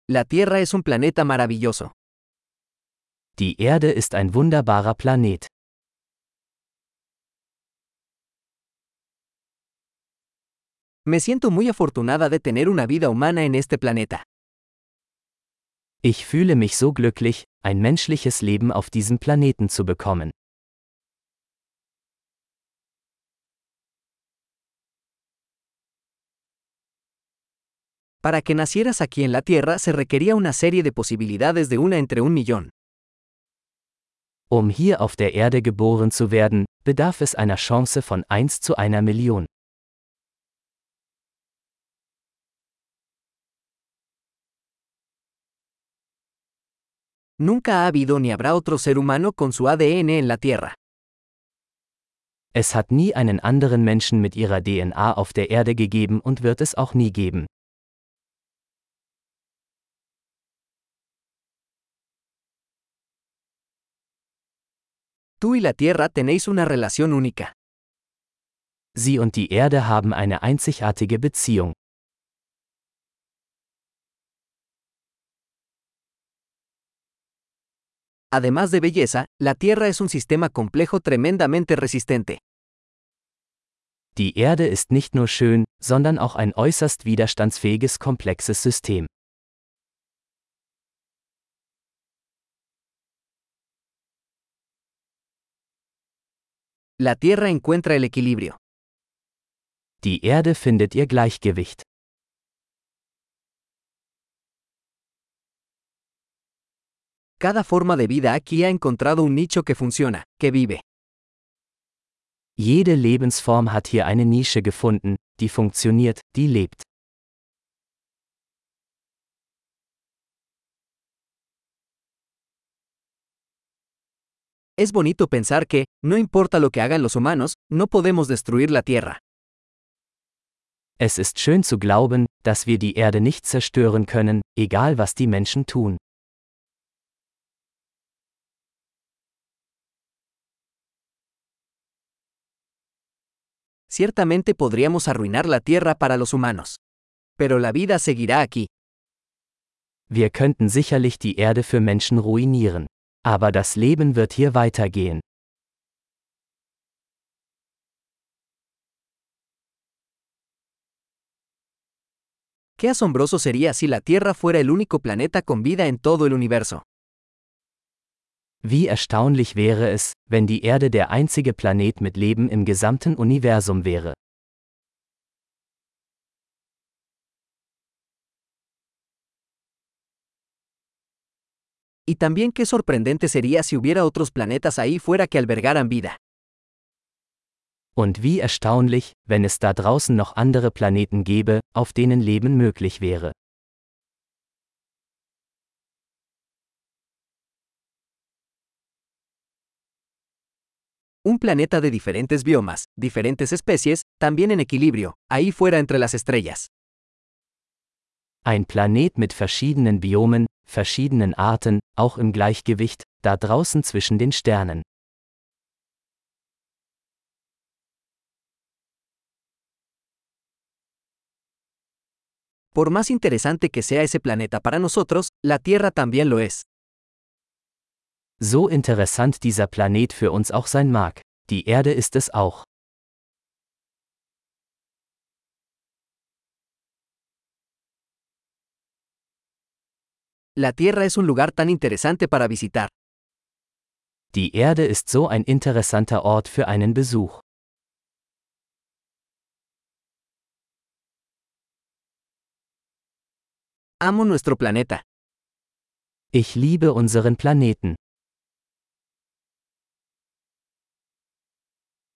La Tierra es un planeta maravilloso. Die Erde ist ein wunderbarer Planet. Me siento muy afortunada de tener una vida humana en este planeta. Ich fühle mich so glücklich, ein menschliches Leben auf diesem Planeten zu bekommen. Para que nacieras aquí en la Tierra se requería una serie de posibilidades de una entre 1.000.000. Um hier auf der Erde geboren zu werden, bedarf es einer Chance von 1 zu 1.000.000. Nunca ha habido ni habrá otro ser humano con su ADN en la Tierra. Es hat nie einen anderen Menschen mit ihrer DNA auf der Erde gegeben und wird es auch nie geben. Tú y la Tierra tenéis una relación única. Sie und die Erde haben eine einzigartige Beziehung. Además de belleza, la Tierra es un sistema complejo tremendamente resistente. Die Erde ist nicht nur schön, sondern auch ein äußerst widerstandsfähiges komplexes System. La Tierra encuentra el equilibrio. Die Erde findet ihr Gleichgewicht. Cada forma de vida aquí ha encontrado un nicho que funciona, que vive. Jede Lebensform hat hier eine Nische gefunden, die funktioniert, die lebt. Es bonito pensar que, no importa lo que hagan los humanos, no podemos destruir la Tierra. Es ist schön zu glauben, dass wir die Erde nicht zerstören können, egal was die Menschen tun. Ciertamente podríamos arruinar la Tierra para los humanos. Pero la vida seguirá aquí. Wir könnten sicherlich die Erde für Menschen ruinieren. Aber das Leben wird hier weitergehen. Qué asombroso sería si la Tierra fuera el único planeta con vida en todo el universo. Wie erstaunlich wäre es, wenn die Erde der einzige Planet mit Leben im gesamten Universum wäre. Y también qué sorprendente sería si hubiera otros planetas ahí fuera que albergaran vida. Und wie erstaunlich, wenn es da draußen noch andere Planeten gäbe, auf denen Leben möglich wäre. Un planeta de diferentes biomas, diferentes especies, también en equilibrio, ahí fuera entre las estrellas. Ein Planet mit verschiedenen Biomen, verschiedenen Arten, auch im Gleichgewicht, da draußen zwischen den Sternen. Por más interesante que sea ese planeta para nosotros, la Tierra también lo es. So interessant dieser Planet für uns auch sein mag, die Erde ist es auch. La Tierra es un lugar tan interesante para visitar. Die Erde ist so ein interessanter Ort für einen Besuch. Amo nuestro planeta. Ich liebe unseren Planeten.